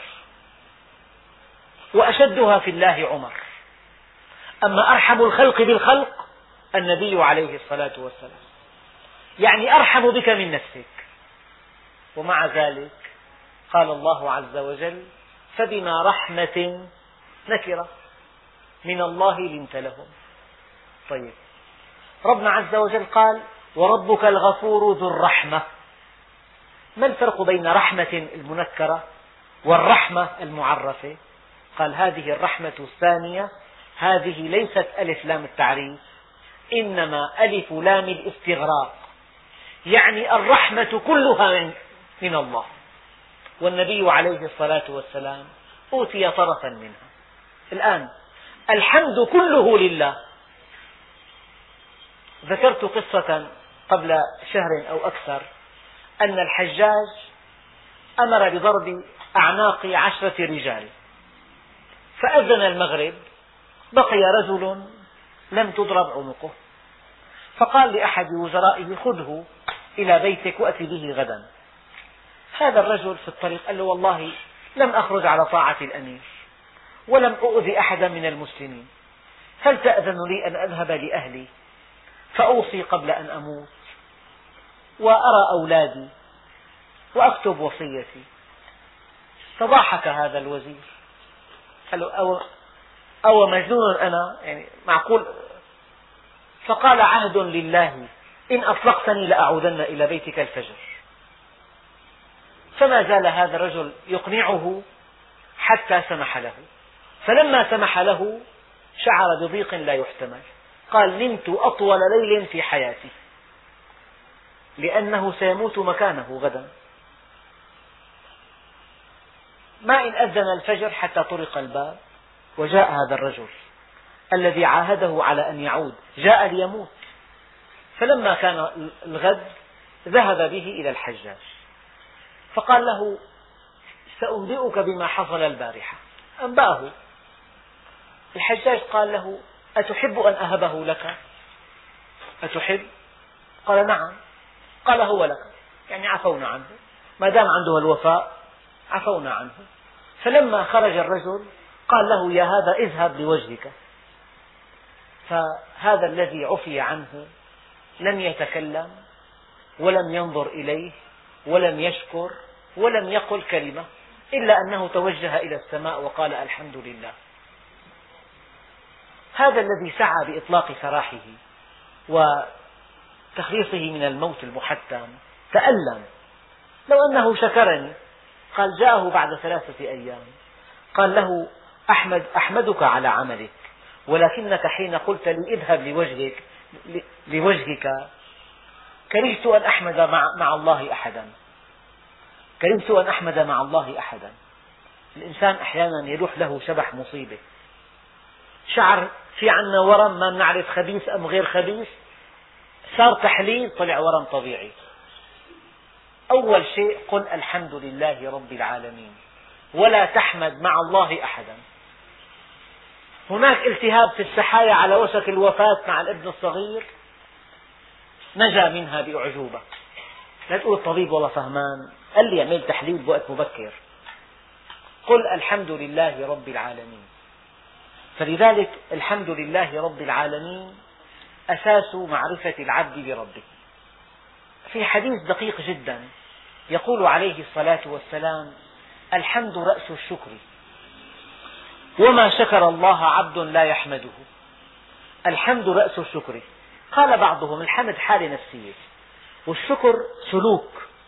وأشدها في الله عمر، أما أرحم الخلق بالخلق النبي عليه الصلاة والسلام، يعني أرحم بك من نفسك. ومع ذلك قال الله عز وجل: فبما رحمة نكرة من الله لنت لهم. طيب، ربنا عز وجل قال: وربك الغفور ذو الرحمة. ما الفرق بين رحمة المنكرة والرحمة المعرفة؟ قال: هذه الرحمة الثانية هذه ليست ألف لام التعريف، إنما ألف لام الاستغراق، يعني الرحمة كلها من الله، والنبي عليه الصلاة والسلام أوتي طرفا منها. الآن الحمد كله لله. ذكرت قصة قبل شهر أو أكثر أن الحجاج أمر بضرب أعناق عشرة رجال، فأذن المغرب بقي رجل لم تضرب عنقه، فقال لأحد وزرائه: خذه إلى بيتك وأتي به غدا. هذا الرجل في الطريق قال له: والله لم أخرج على طاعة الأمير ولم أؤذي أحدا من المسلمين، هل تأذن لي أن أذهب لأهلي فأوصي قبل أن أموت وأرى أولادي وأكتب وصيتي؟ فضحك هذا الوزير قال له: أو, أو مجنون أنا، يعني معقول؟ فقال: عهد لله إن أطلقتني لأعودن إلى بيتك الفجر. فما زال هذا الرجل يقنعه حتى سمح له، فلما سمح له شعر بضيق لا يحتمل، قال نمت أطول ليل في حياتي، لأنه سيموت مكانه غدا. ما إن أذن الفجر حتى طرق الباب وجاء هذا الرجل الذي عاهده على أن يعود، جاء ليموت. فلما كان الغد ذهب به إلى الحجاج فقال له سأنبئك بما حصل البارحة. أنبأه. الحجاج قال له أتحب أن أهبه لك؟ أتحب؟ قال نعم. قال هو لك، يعني عفونا عنه، ما دام عنده الوفاء عفونا عنه. فلما خرج الرجل قال له يا هذا اذهب لوجهك. فهذا الذي عفي عنه لم يتكلم ولم ينظر إليه ولم يشكر ولم يقل كلمة إلا أنه توجه إلى السماء وقال الحمد لله. هذا الذي سعى بإطلاق سراحه وتخليصه من الموت المحتم تألم. لو أنه شكرني، قال جاءه بعد ثلاثة أيام قال له أحمد أحمدك على عملك، ولكنك حين قلت لي اذهب لوجهك لوجهك كرهت أن أحمد مع, مع الله أحدا كرهت أن أحمد مع الله أحدا. الإنسان أحيانا يلوح له شبح مصيبة، شعر في عنا ورم ما نعرف خبيث أم غير خبيث، صار تحليل طلع ورم طبيعي. أول شيء قل الحمد لله رب العالمين ولا تحمد مع الله أحدا. هناك التهاب في السحايا على وشك الوفاة مع الابن الصغير، نجا منها بأعجوبة. لا تقول الطبيب والله فهمان، قال لي اعمل تحليل بوقت مبكر. قل الحمد لله رب العالمين. فلذلك الحمد لله رب العالمين أساس معرفة العبد بربه. في حديث دقيق جدا يقول عليه الصلاة والسلام الحمد رأس الشكر، وما شكر الله عبد لا يحمده. الحمد رأس الشكر. قال بعضهم الحمد حالة نفسية والشكر سلوك،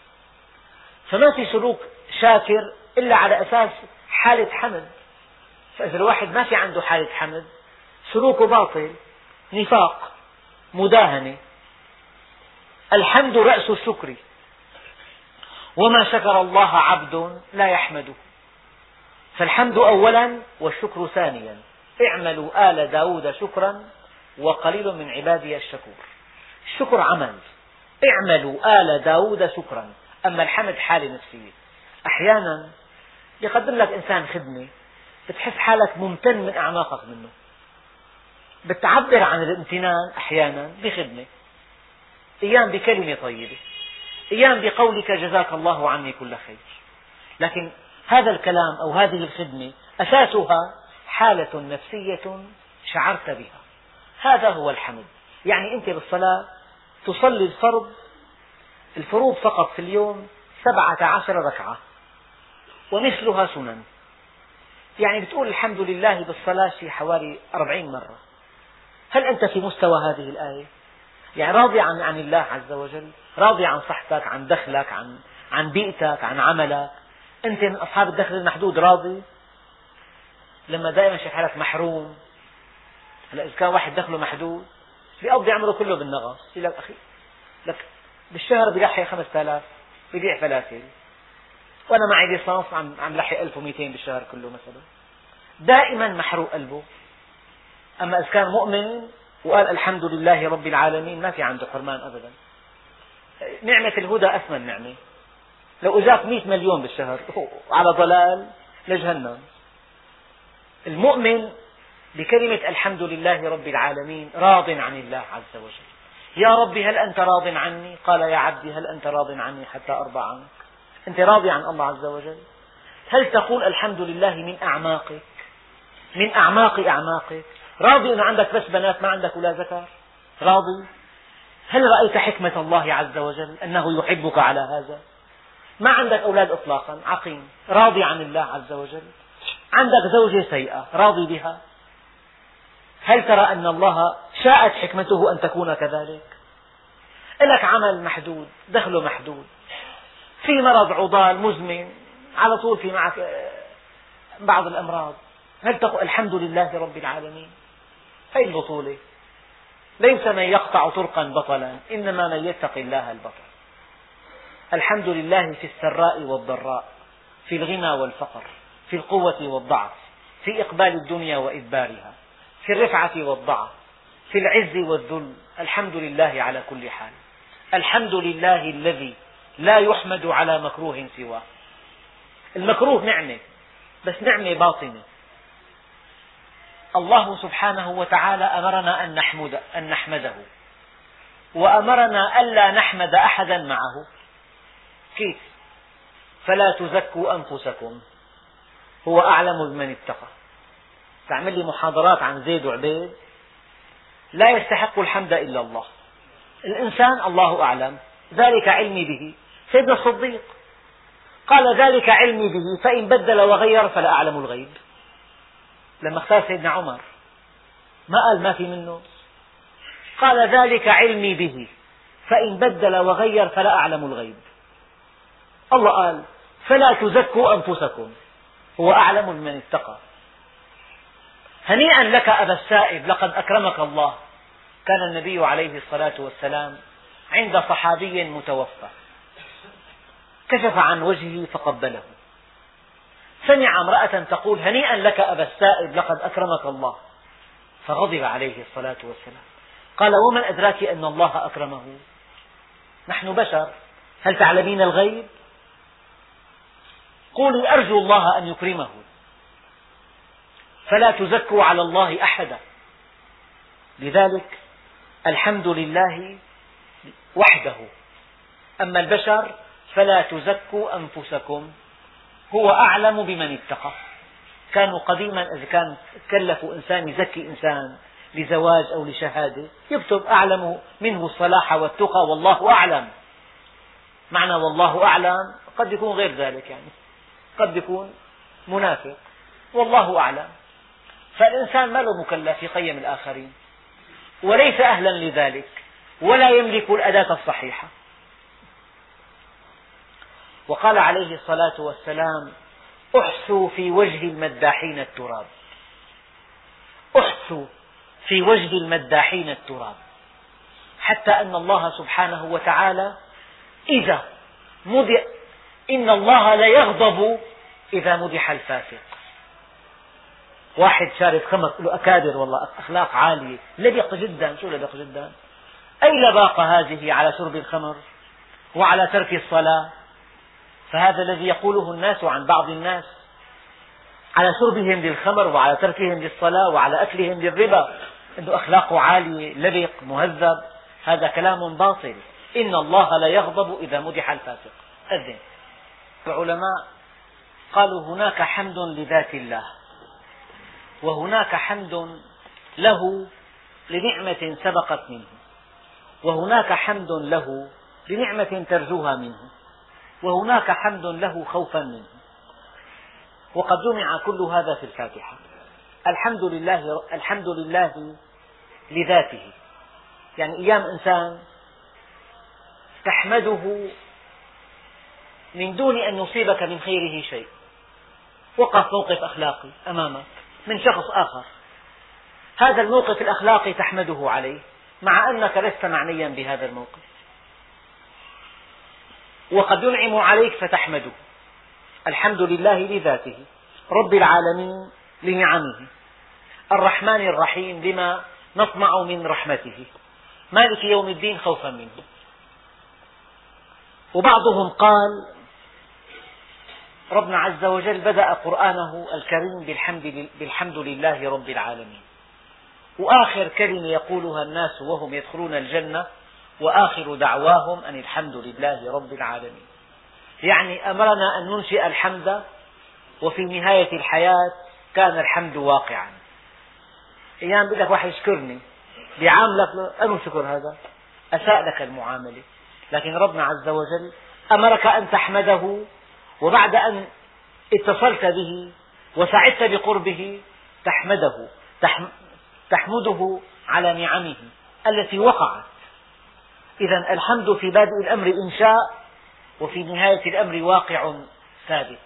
فما في سلوك شاكر إلا على أساس حالة حمد. فإذا الواحد ما في عنده حالة حمد سلوكه باطل، نفاق، مداهنة. الحمد رأس الشكر، وما شكر الله عبد لا يحمده. فالحمد أولا والشكر ثانيا. اعملوا آل داود شكرا وقليل من عبادي الشكور. الشكر عمل، اعملوا آل داود شكرا. أما الحمد حالة نفسية. أحيانا يقدم لك إنسان خدمة بتحس حالك ممتن من أعماقك منه، بتعبر عن الامتنان أحيانا بخدمة، أيام بكلمة طيبة، أيام بقولك جزاك الله عني كل خير. لكن هذا الكلام أو هذه الخدمة أساسها حالة نفسية شعرت بها. هذا هو الحمد. يعني أنت بالصلاة تصلي الفرض الفروض فقط في اليوم سبعة عشر ركعة ومثلها سنن، يعني بتقول الحمد لله بالصلاة في حوالي أربعين مرة. هل أنت في مستوى هذه الآية؟ يعني راضي عن, عن الله عز وجل، راضي عن صحتك، عن دخلك، عن, عن بيئتك، عن عملك. أنت من أصحاب الدخل المحدود راضي؟ لما دائما شايف حالك محروم. هلا إذا كان واحد دخله محدود بيقضي عمره كله بالنغص، يقول لك أخي لك بالشهر بيلحق خمسة آلاف بيبيع فلافل، وأنا معي ليسانس عم عم لحق ألف ومئتين بالشهر كله مثلا. دائما محروق قلبه. أما إذا كان مؤمن وقال الحمد لله رب العالمين ما في عنده حرمان أبدا. نعمة الهدى أثمن نعمة. لو أجاك مئة مليون بالشهر على ضلال لجهنم. المؤمن بكلمة الحمد لله رب العالمين راض عن الله عز وجل. يا ربي هل أنت راض عني؟ قال يا عبدي هل أنت راض عني حتى أرضى عنك؟ أنت راضي عن الله عز وجل؟ هل تقول الحمد لله من أعماقك، من أعماق أعماقك؟ راضي أن عندك بس بنات ما عندك ولا ذكر؟ راضي؟ هل رأيت حكمة الله عز وجل أنه يحبك على هذا؟ ما عندك أولاد إطلاقا، عقيم، راضي عن الله عز وجل؟ عندك زوجة سيئة، راضي بها؟ هل ترى أن الله شاءت حكمته أن تكون كذلك؟ لك عمل محدود، دخله محدود، في مرض عضال مزمن، على طول في معك بعض الأمراض، هل تقول الحمد لله رب العالمين؟ هذه البطولة. ليس من يقطع طرقا بطلا، إنما من يتقي الله البطل. الحمد لله في السراء والضراء، في الغنى والفقر، في القوة والضعف، في إقبال الدنيا وإدبارها، في الرفعة والضعف، في العز والذل. الحمد لله على كل حال. الحمد لله الذي لا يحمد على مكروه سواه. المكروه نعمة، بس نعمة باطنة. الله سبحانه وتعالى أمرنا أن نحمد أن نحمده، وأمرنا ألا نحمد أحدا معه. كيف؟ فلا تزكوا أنفسكم هو أعلم بمن اتقى. تعمل لي محاضرات عن زيد وعبيد، لا يستحق الحمد إلا الله. الإنسان الله أعلم، ذلك علمي به. سيدنا الصديق قال ذلك علمي به، فإن بدل وغير فلا أعلم الغيب. لما اختار سيدنا عمر ما قال ما في منه، قال ذلك علمي به، فإن بدل وغير فلا أعلم الغيب. الله قال فلا تزكوا أنفسكم هو أعلم بمن اتقى. هنيئا لك أبا السائب، لقد أكرمك الله. كان النبي عليه الصلاة والسلام عند صحابي متوفى، كشف عن وجهه فقبله، سمع امرأة تقول هنيئا لك أبا السائب لقد أكرمك الله، فغضب عليه الصلاة والسلام. قال ومن أدراك أن الله أكرمه؟ نحن بشر، هل تعلمين الغيب؟ قولي أرجو الله أن يكرمه. فلا تزكوا على الله أحدا. لذلك الحمد لله وحده. أما البشر فلا تزكوا أنفسكم هو أعلم بمن اتقى. كانوا قديما إذا كان كلفوا إنسان يزكي إنسان لزواج أو لشهادة يكتب أعلم منه الصلاح والتقى والله أعلم. معنى والله أعلم قد يكون غير ذلك، يعني قد يكون منافق، والله أعلم. فالإنسان ما له مكلف يقيم الآخرين، وليس أهلا لذلك، ولا يملك الأداة الصحيحة. وقال عليه الصلاة والسلام احثوا في وجه المداحين التراب. احثوا في وجه المداحين التراب، حتى أن الله سبحانه وتعالى إذا مدح، إن الله ليغضب إذا مدح الفاسق. واحد شارب خمر له أكابر والله أخلاق عالية، لبق جدا. شو لبق جدا؟ أي لباقة هذه على شرب الخمر وعلى ترك الصلاة. فهذا الذي يقوله الناس عن بعض الناس على شربهم للخمر وعلى تركهم للصلاة وعلى أكلهم للربا أنه أخلاقه عالية، لبق، مهذب. هذا كلام باطل. إن الله لا يغضب إذا مدح الفاسق. أذن العلماء قالوا هناك حمد لذات الله، وهناك حمد له لنعمة سبقت منه، وهناك حمد له لنعمة ترجوها منه، وهناك حمد له خوفا منه. وقد جمع كل هذا في الفاتحة. الحمد لله الحمد لله لذاته، يعني أيام إنسان تحمده من دون أن يصيبك من خيره شيء. وقف موقف أخلاقي أمامك من شخص آخر، هذا الموقف الأخلاقي تحمده عليه مع أنك لست معنيا بهذا الموقف، وقد ينعم عليك فتحمده. الحمد لله لذاته، رب العالمين لنعمه، الرحمن الرحيم لما نطمع من رحمته، مالك يوم الدين خوفا منه. وبعضهم قال ربنا عز وجل بدأ قرآنه الكريم بالحمد, بالحمد لله رب العالمين، وآخر كلمة يقولها الناس وهم يدخلون الجنة وآخر دعواهم أن الحمد لله رب العالمين. يعني أمرنا أن ننشئ الحمد، وفي نهاية الحياة كان الحمد واقعا. أيام بدك واحد يشكرني بيعاملك أنو شكر هذا؟ أساء لك المعاملة. لكن ربنا عز وجل أمرك أن تحمده، وبعد أن اتصلت به وسعدت بقربه تحمده تحمده على نعمه التي وقعت. إذن الحمد في بادئ الأمر إنشاء، وفي نهاية الأمر واقع ثابت.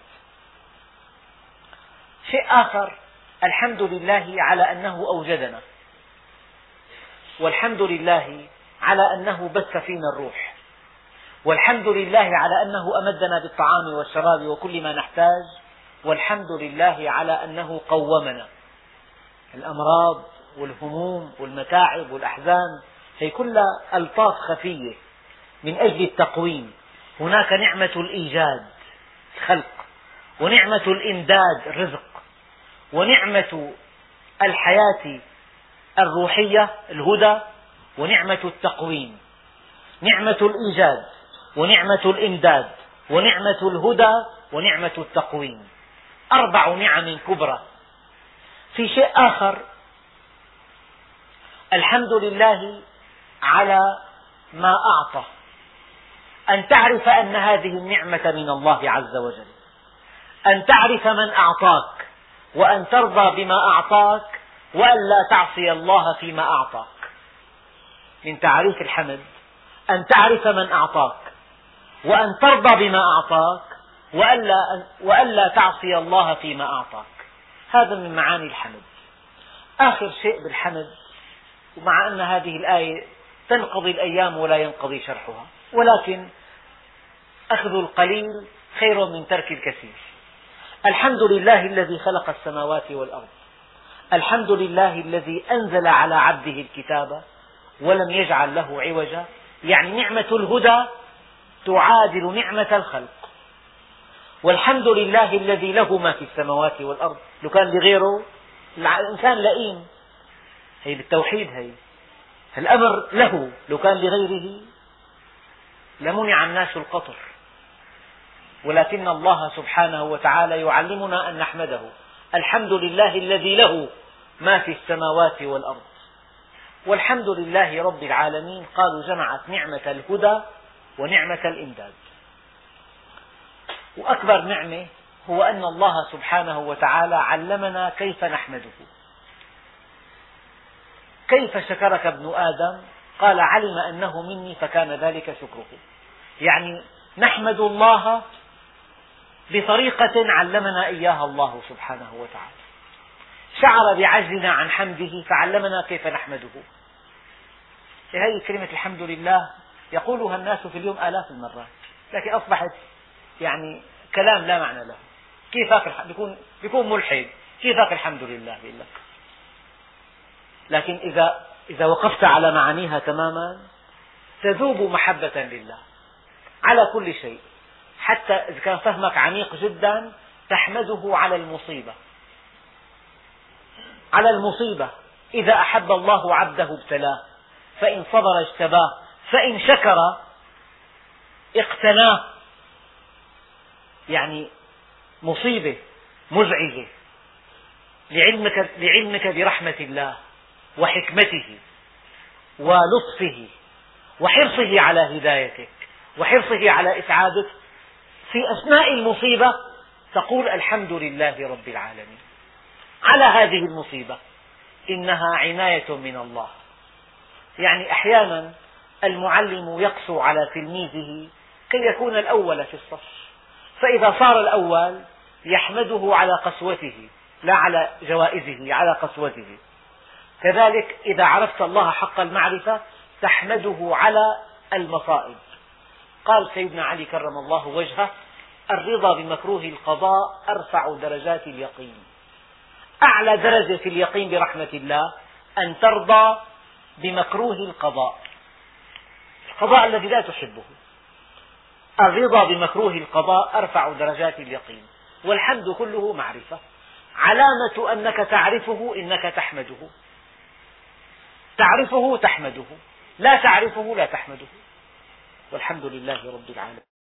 شيء آخر، الحمد لله على أنه أوجدنا، والحمد لله على أنه بث فينا الروح، والحمد لله على أنه أمدنا بالطعام والشراب وكل ما نحتاج، والحمد لله على أنه قومنا. الأمراض والهموم والمتاعب والأحزان هي كلها ألطاف خفية من أجل التقويم. هناك نعمة الإيجاد الخلق، ونعمة الإمداد الرزق، ونعمة الحياة الروحية الهدى، ونعمة التقويم. نعمة الإيجاد ونعمة الإمداد ونعمة الهدى ونعمة التقويم، أربع نعم كبرى. في شيء آخر، الحمد لله على ما أعطى، أن تعرف أن هذه النعمة من الله عز وجل، أن تعرف من أعطاك، وأن ترضى بما أعطاك، وأن لا تعصي الله فيما أعطاك. من تعريف الحمد أن تعرف من أعطاك، وأن ترضى بما أعطاك، وأن لا تعصي الله فيما أعطاك. هذا من معاني الحمد. آخر شيء بالحمد، ومع أن هذه الآية تنقضي الأيام ولا ينقضي شرحها، ولكن أخذ القليل خير من ترك الكثير. الحمد لله الذي خلق السماوات والأرض، الحمد لله الذي أنزل على عبده الكتاب ولم يجعل له عوجا. يعني نعمة الهدى تعادل نعمة الخلق. والحمد لله الذي له ما في السماوات والأرض. لو كان لغيره الإنسان لئيم، هي بالتوحيد، هي الأمر له. لو كان لغيره لمنع الناس القطر، ولكن الله سبحانه وتعالى يعلمنا أن نحمده. الحمد لله الذي له ما في السماوات والأرض. والحمد لله رب العالمين قالوا جمعت نعمة الهدى ونعمة الإمداد. وأكبر نعمة هو أن الله سبحانه وتعالى علمنا كيف نحمده. كيف شكرك ابن آدم؟ قال علم أنه مني فكان ذلك شكره. يعني نحمد الله بطريقة علمنا إياها الله سبحانه وتعالى. شعر بعجزنا عن حمده فعلمنا كيف نحمده. هذه كلمة الحمد لله يقولها الناس في اليوم آلاف المرات، لكن أصبحت يعني كلام لا معنى له. كيفك بيكون بيكون ملحد، كيفك الحمد لله بيقول لك. لكن إذا إذا وقفت على معانيها تماما تذوب محبة لله على كل شيء. حتى إذا كان فهمك عميق جدا تحمده على المصيبة، على المصيبة. إذا أحب الله عبده ابتلاه، فإن صبر اجتباه، فإن شكر اقتناه. يعني مصيبة مزعجة لعلمك, لعلمك برحمة الله وحكمته ولطفه وحرصه على هدايتك وحرصه على إسعادك. في أثناء المصيبة تقول الحمد لله رب العالمين على هذه المصيبة، إنها عناية من الله. يعني أحيانا المعلم يقسو على تلميذه كي يكون الأول في الصف، فإذا صار الأول يحمده على قسوته لا على جوائزه، على قسوته. كذلك إذا عرفت الله حق المعرفة تحمده على المصائب. قال سيدنا علي كرم الله وجهه: الرضا بمكروه القضاء أرفع درجات اليقين. أعلى درجة في اليقين برحمة الله أن ترضى بمكروه القضاء، القضاء الذي لا تحبه. الرضا بمكروه القضاء أرفع درجات اليقين. والحمد كله معرفة. علامة أنك تعرفه إنك تحمده. تعرفه تحمده، لا تعرفه لا تحمده. والحمد لله رب العالمين.